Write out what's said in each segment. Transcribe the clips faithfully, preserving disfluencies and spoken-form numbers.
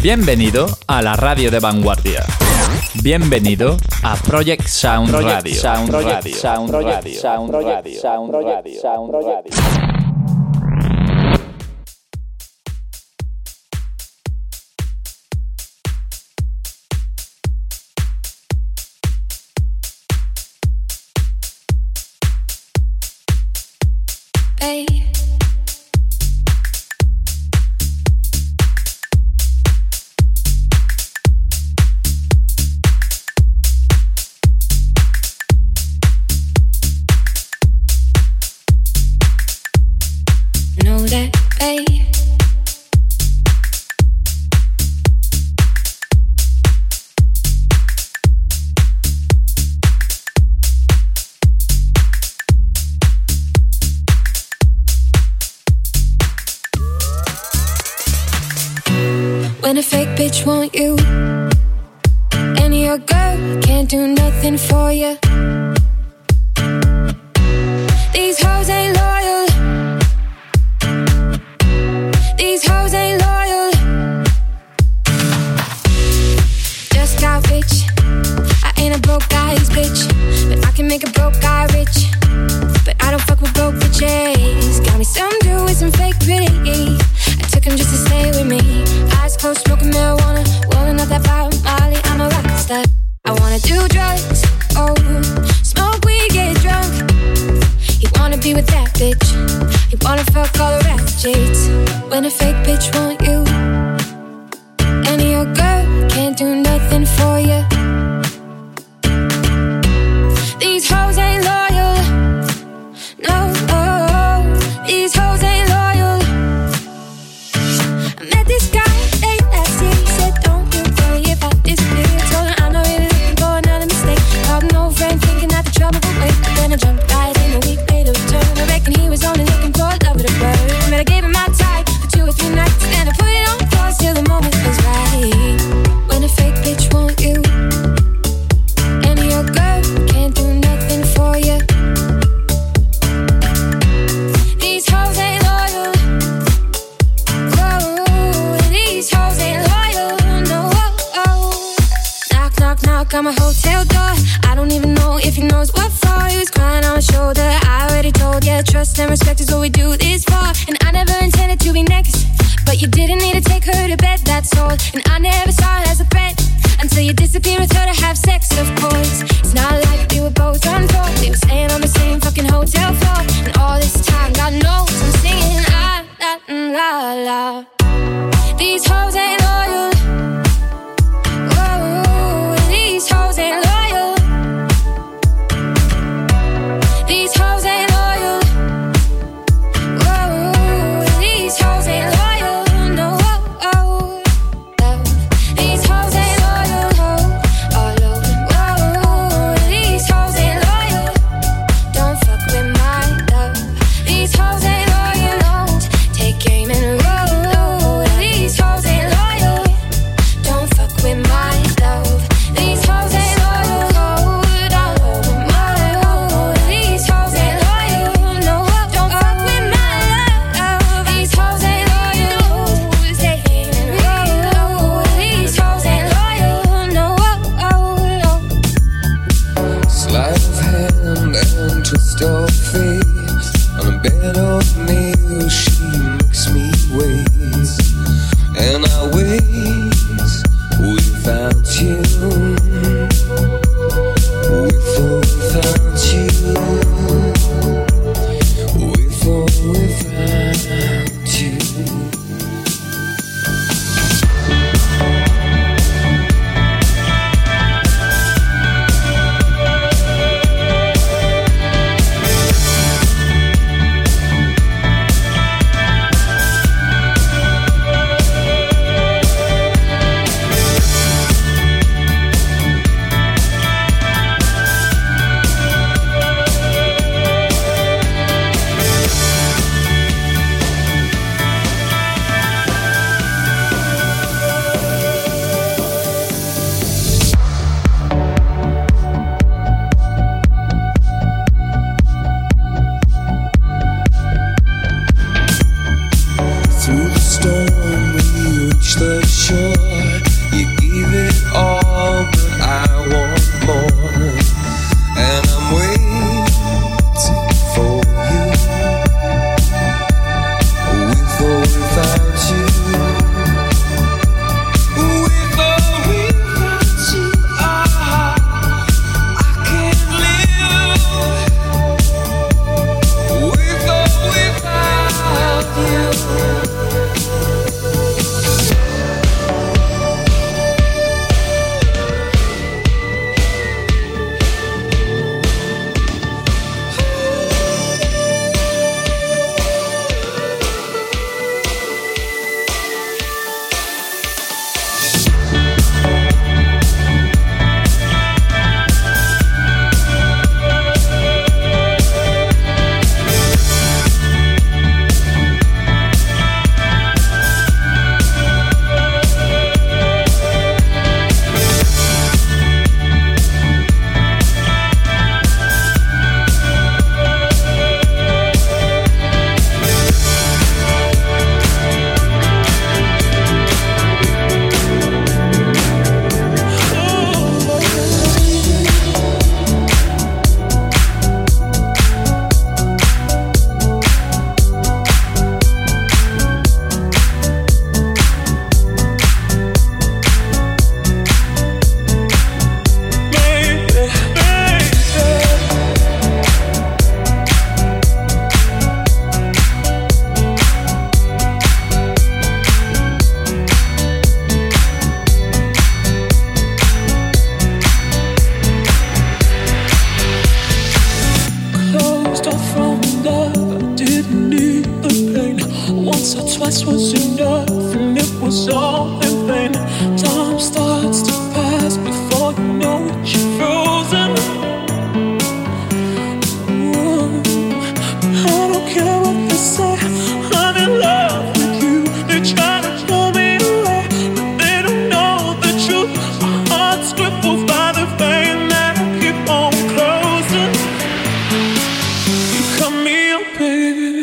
Bienvenido a la radio de vanguardia. Bienvenido a Project Sound Project Radio. Sound Project Radio. Sound Project Radio. Sound Radio. Sound Radio. Sound Radio. Hey. Know that, hey. When a fake bitch want you, and your girl can't do nothing for you. These hoes ain't loyal. These hoes ain't loyal. Just got rich. I ain't a broke guy's bitch, but I can make a broke guy rich. But I don't fuck with broke bitches. Got me some dude with some fake pretty. I took him just to stay with me. Eyes closed, smoking marijuana, rolling up that fire Molly. I'm a rock star. I wanna do drugs, oh, smoke weed, get drunk. He wanna be with that bitch. He wanna fuck all the ratchets. When a fake bitch want you, and your girl can't do nothing for you. These hoes ain't loyal. No, oh, these hoes ain't loyal. I met this guy late last year. He said, don't you worry about this bitch. Told him I'm not really looking for another mistake. Called an old friend thinking that the trouble would wait. But then I jumped right in a week later return. I reckon he was only looking for love with a bird. But I gave him my time for two or three nights. Then I put it on pause till the moment was right. When a fake bitch want you, and your girl can't do nothing for you. These hoes ain't loyal. Whoa, these hoes ain't loyal. No, oh, oh. Knock, knock, knock on my hotel door. I don't even know if he knows what for. He was crying on my shoulder. I already told ya, trust and respect is what we do this for. And I never intended to be next, but you didn't need to take her to bed, that's all. And I never saw it as a threat until you disappeared with her to have sex, of course. It's not like we were both on tour. We were staying on the same fucking hotel floor. And all this time, God knows I'm singing la, la, la, la. These hoes ain't loyal. Whoa, these hoes ain't loyal. These hoes ain't loyal. Whoa, these hoes ain't loyal. No, oh, oh. These hoes ain't loyal. Oh, whoa, these hoes ain't loyal. Don't fuck with my love. These hoes ain't loyal. Take aim and roll. These hoes ain't was all in vain. Time starts to pass before you know it, you're frozen. Ooh, I don't care what they say, I'm in love with you. They try to pull me away, but they don't know the truth. My heart's crippled by the pain that I keep on closing. You cut me up, baby.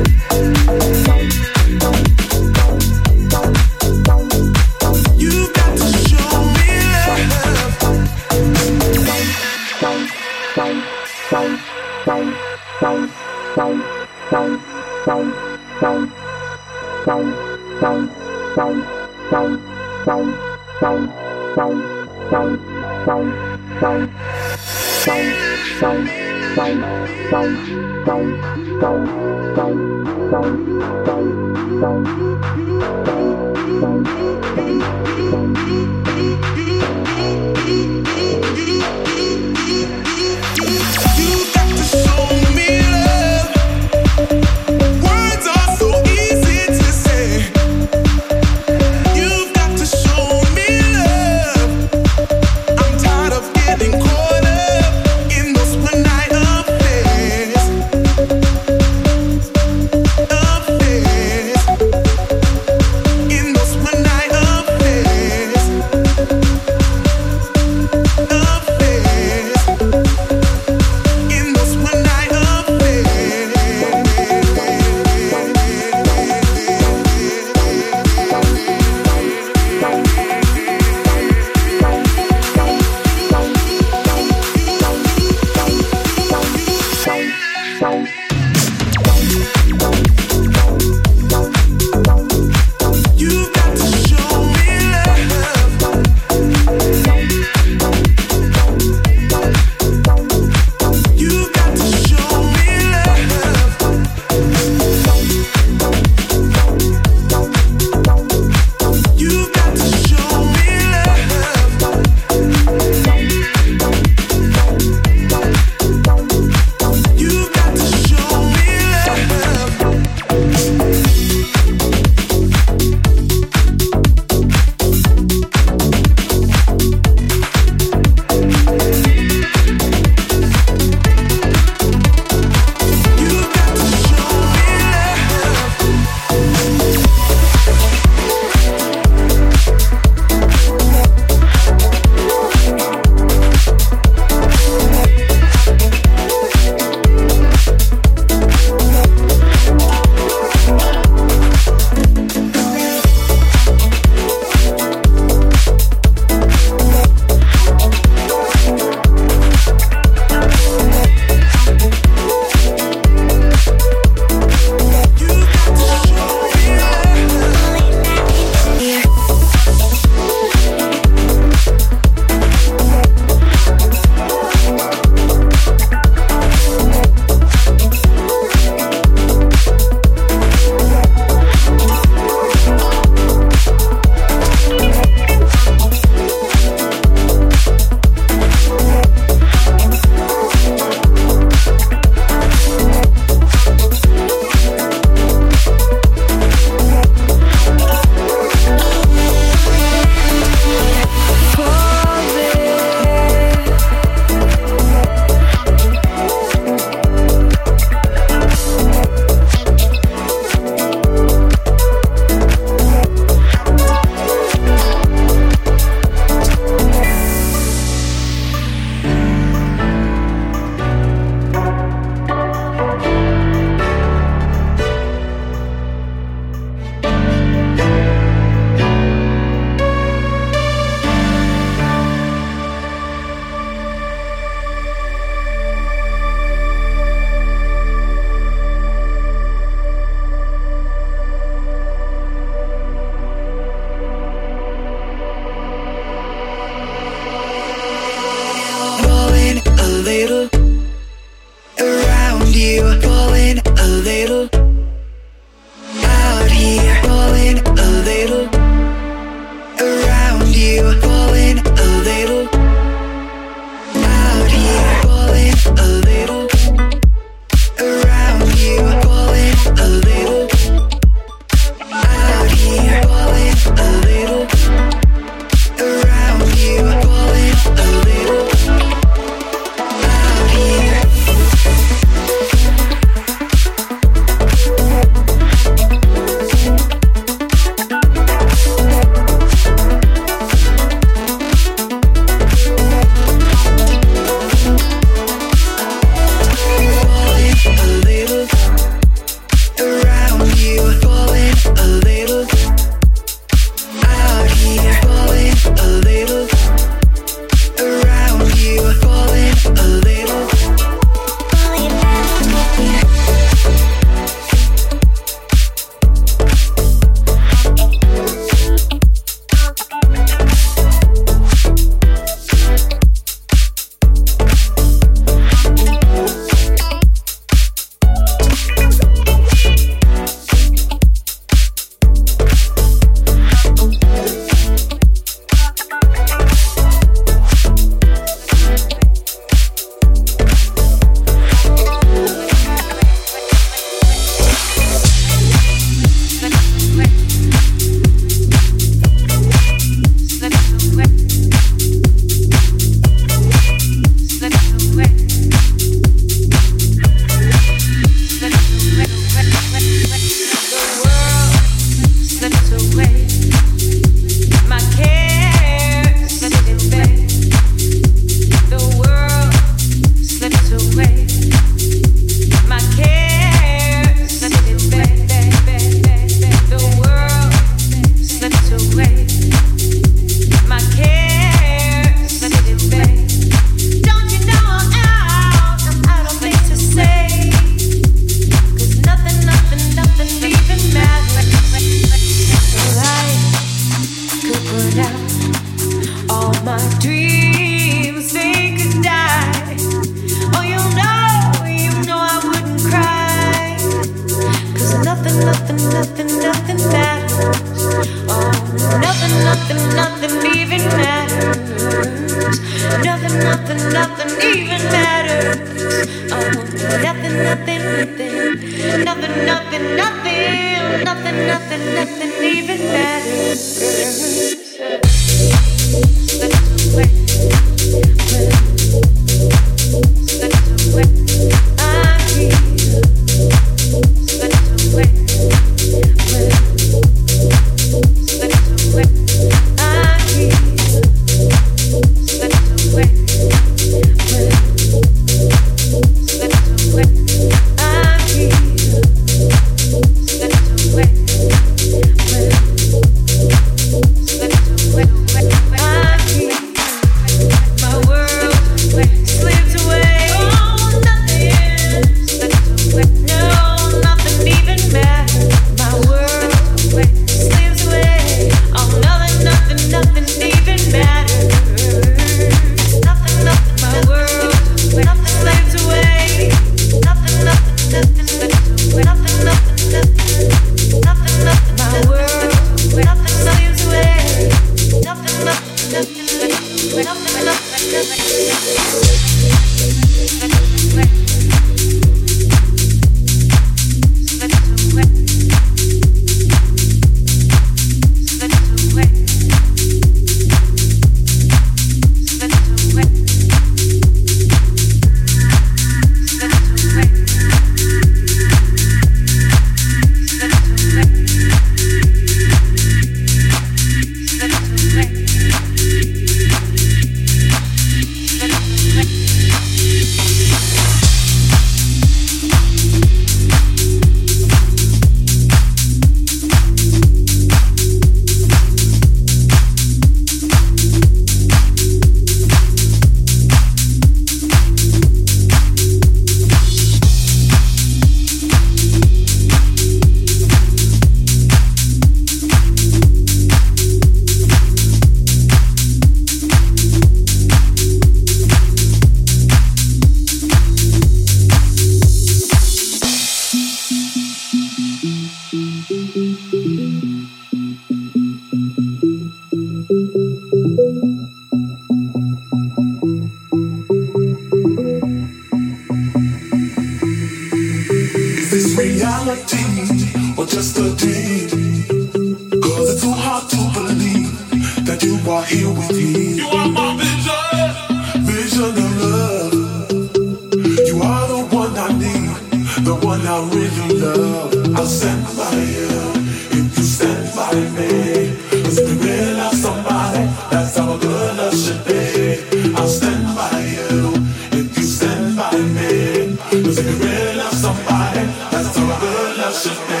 are here with me. You are my vision, vision of love. You are the one I need, the one I really love. I'll stand by you if you stand by me. 'Cause if you really love somebody, that's how a good love should be. I'll stand by you if you stand by me. 'Cause if you really love somebody, that's how a good love should be.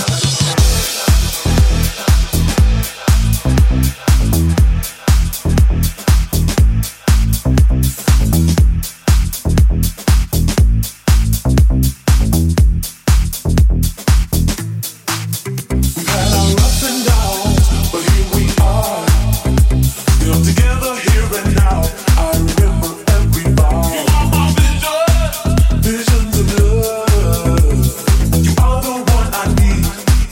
Visions of love. You are the one I need.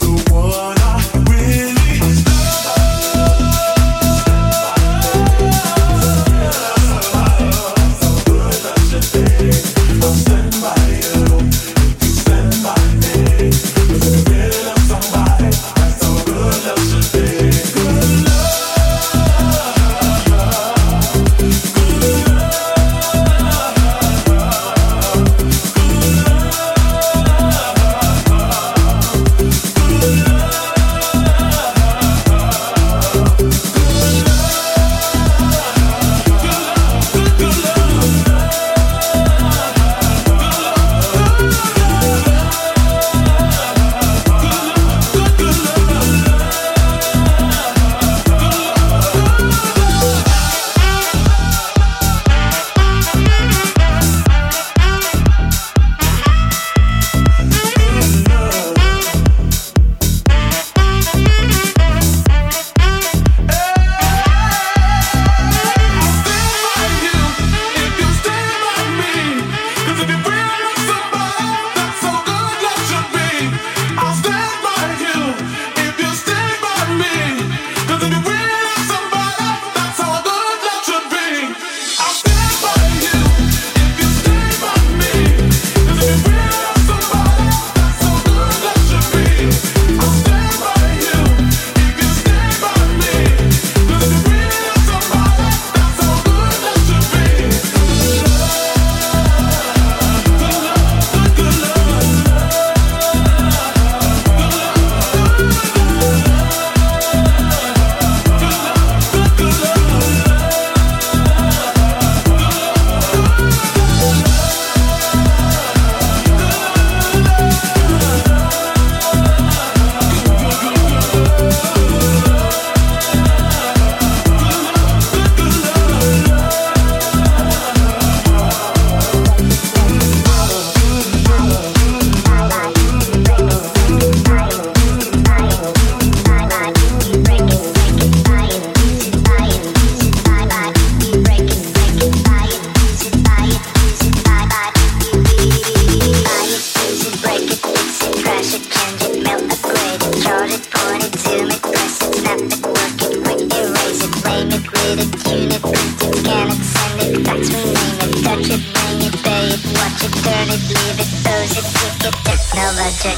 Technologic,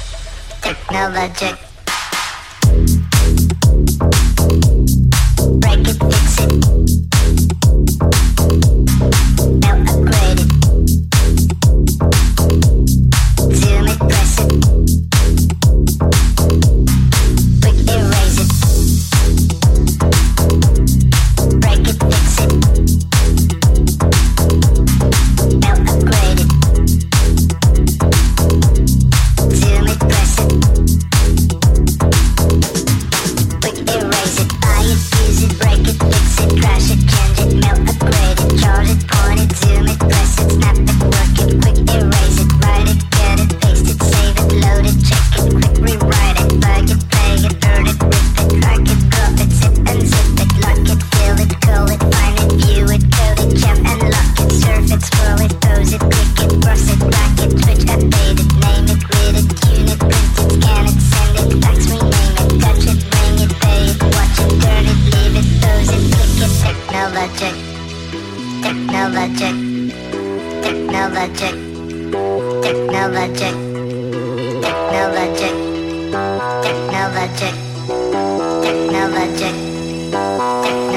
technologic. Break it, fix it. Now upgrade it. Zoom it, press it. Quick erase it. Break it, fix it. Now upgrade it. Zoom it, press it. Quick erase it. Buy it, use it, break it, fix it, crash it, change it, melt, upgrade it, charge it, point it, zoom it, press it, snap it, work it, quick erase it, write it, get it, paste it, save it, load it, check it, quick rewrite it, plug it, play it, burn it, rip it, crack it, drop it, zip and zip it, lock it, fill it, call it, find it, view it, code it, jump and lock it, surf it, scroll it, pose it, click it, cross it, back it, switch, update it, name it, read it, tune it, print it, scan it, send it, fax, rename it, touch it, bring it, pay it, watch it, turn it, leave it, pose it, click it, technologic, technologic, technologic, technologic, technologic, technologic, technologic, technologic.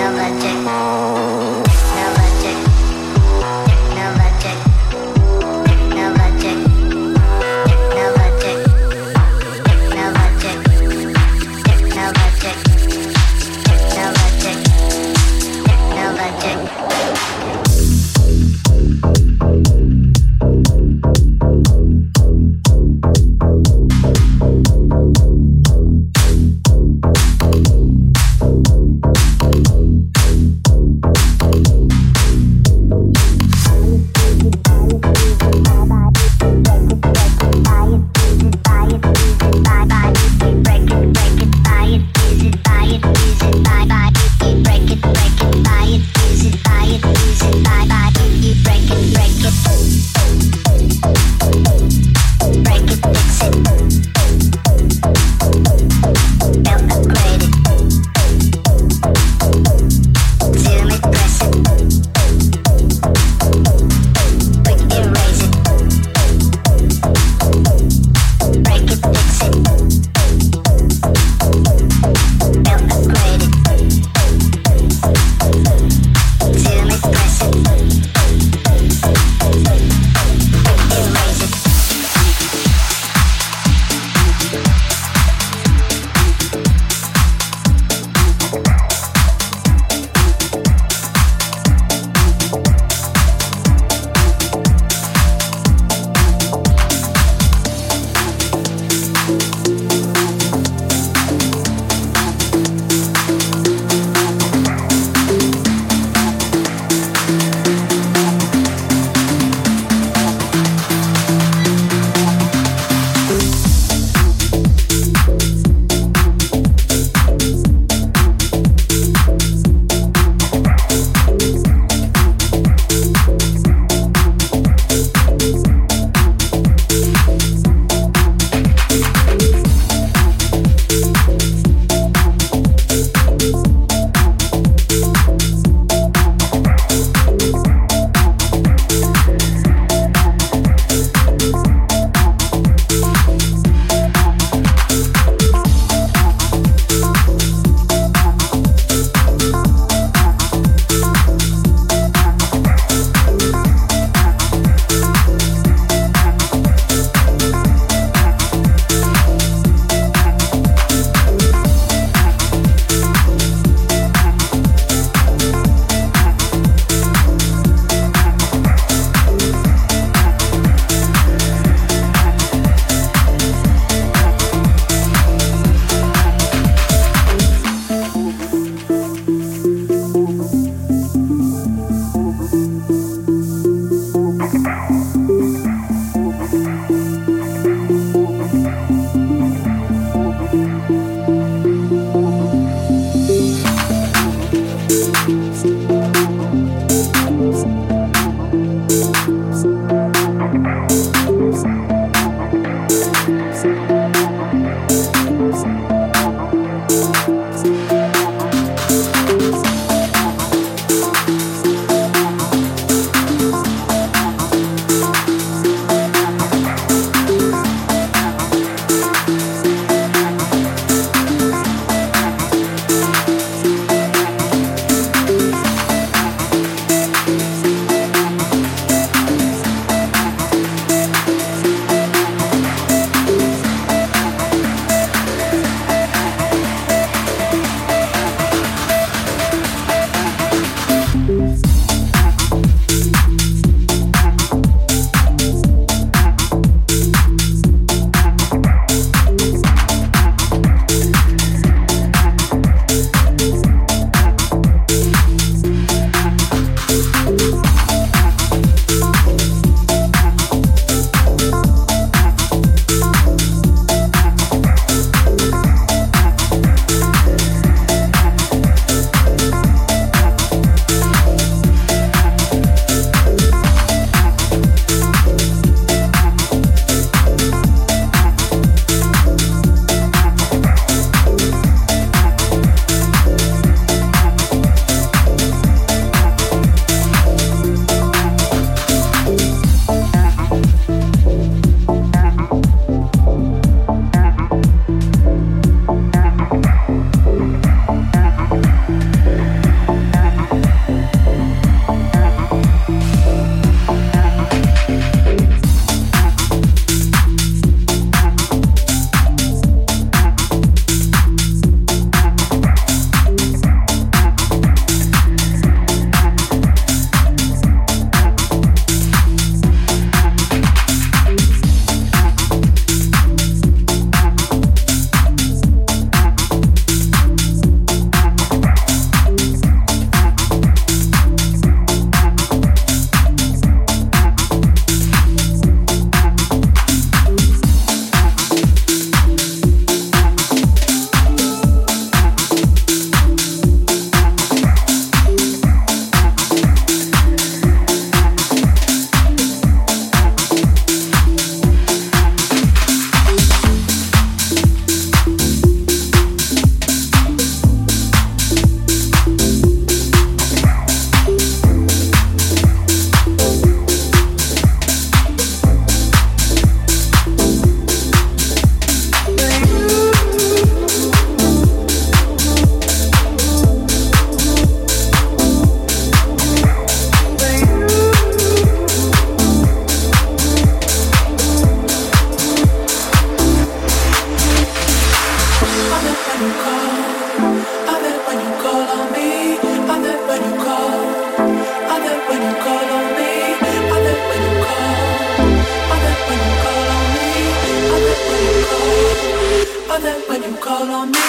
are there when you call on me.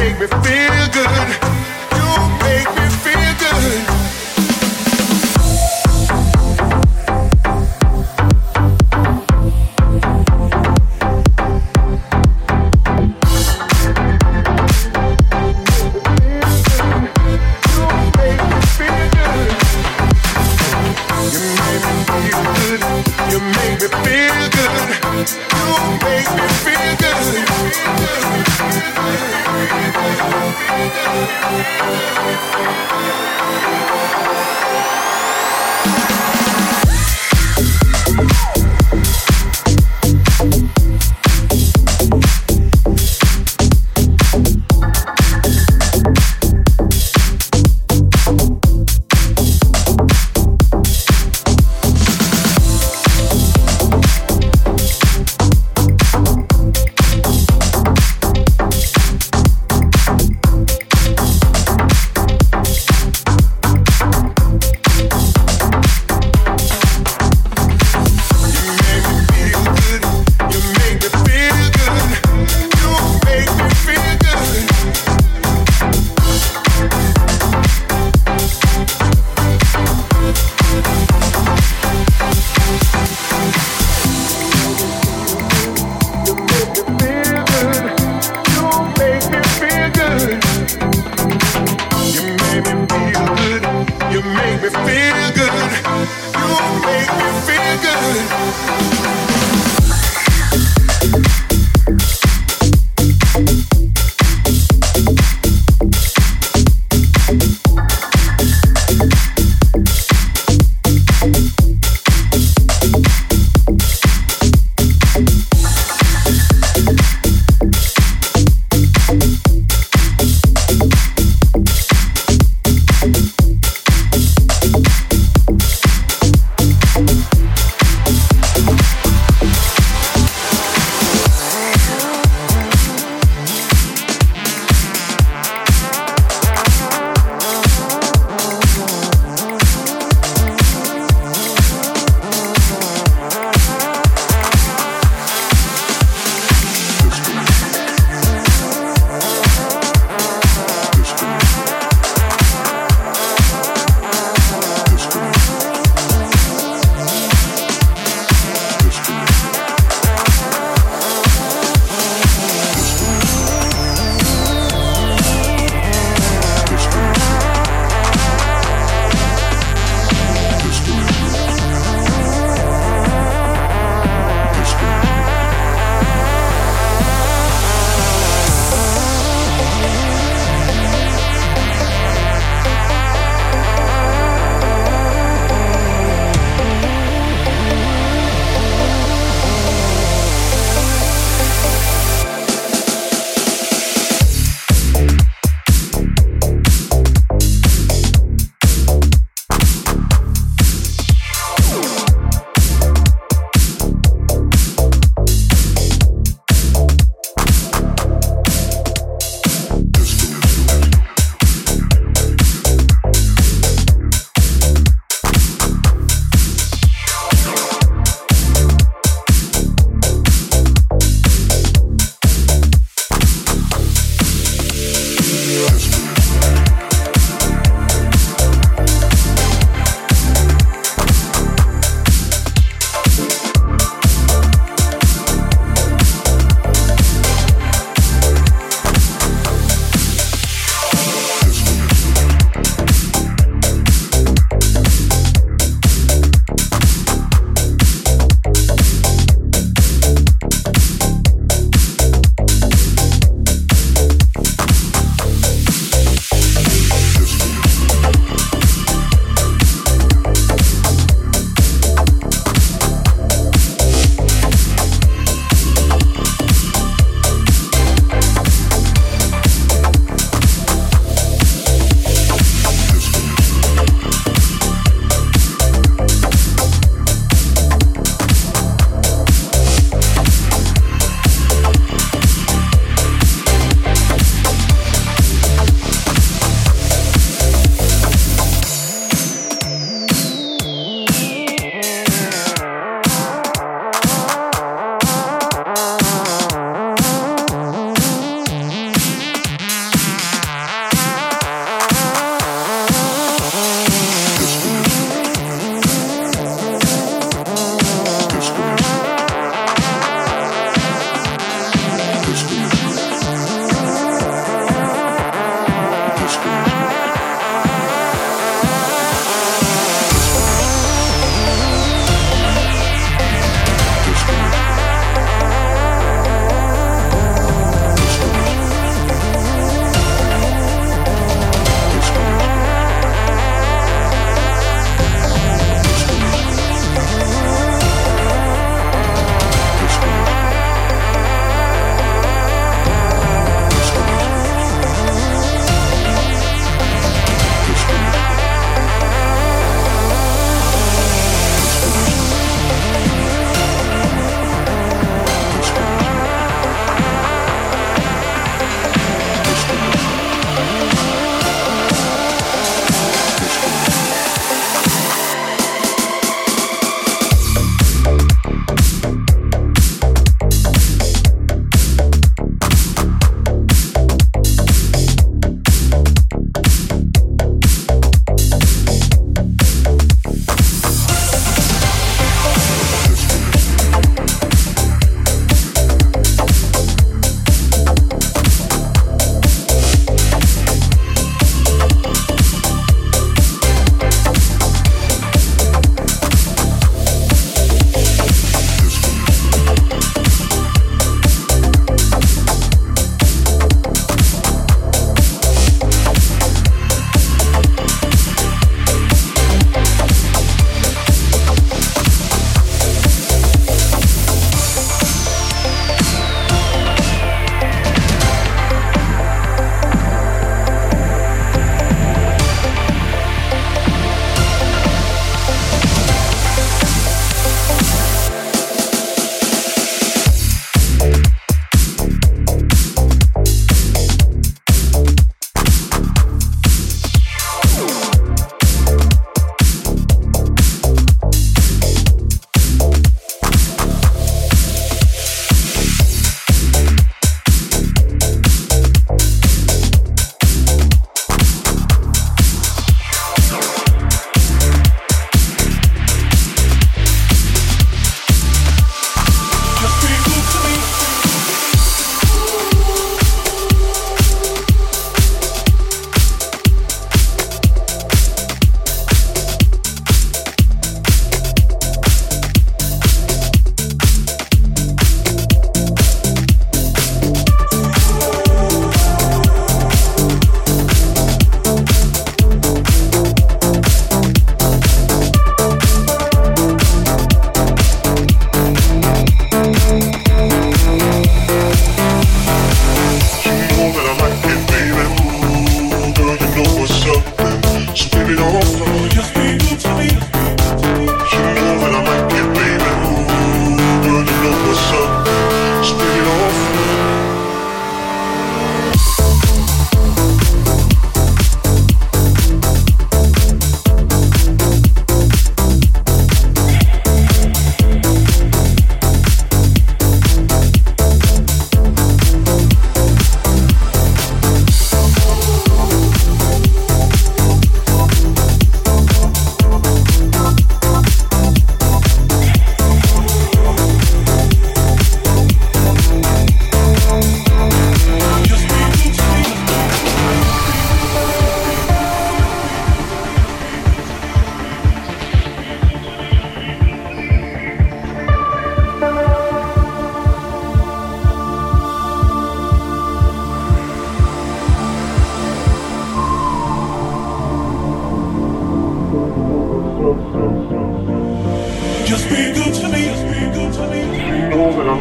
make me feel good. You make me feel good.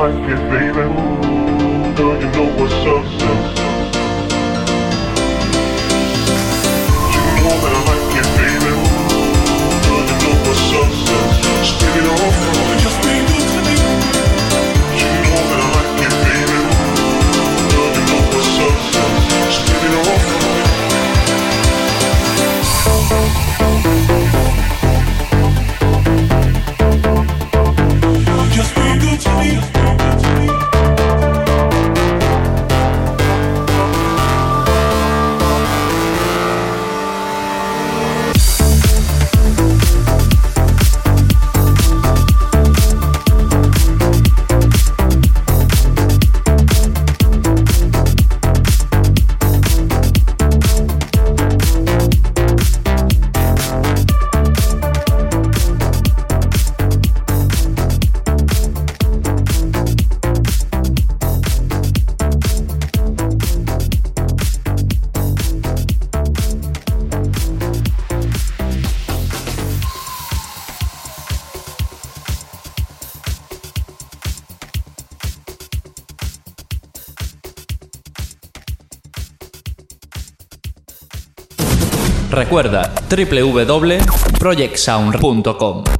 like it, baby. Girl, you know what's up. You know that I like it, baby. Girl, you know what's up. Spin it off, just be good to me. You know that I like it, baby. Girl, you know what's up. Spin it off. Just be good to me. Recuerda, doble u doble u doble u punto project sound punto com.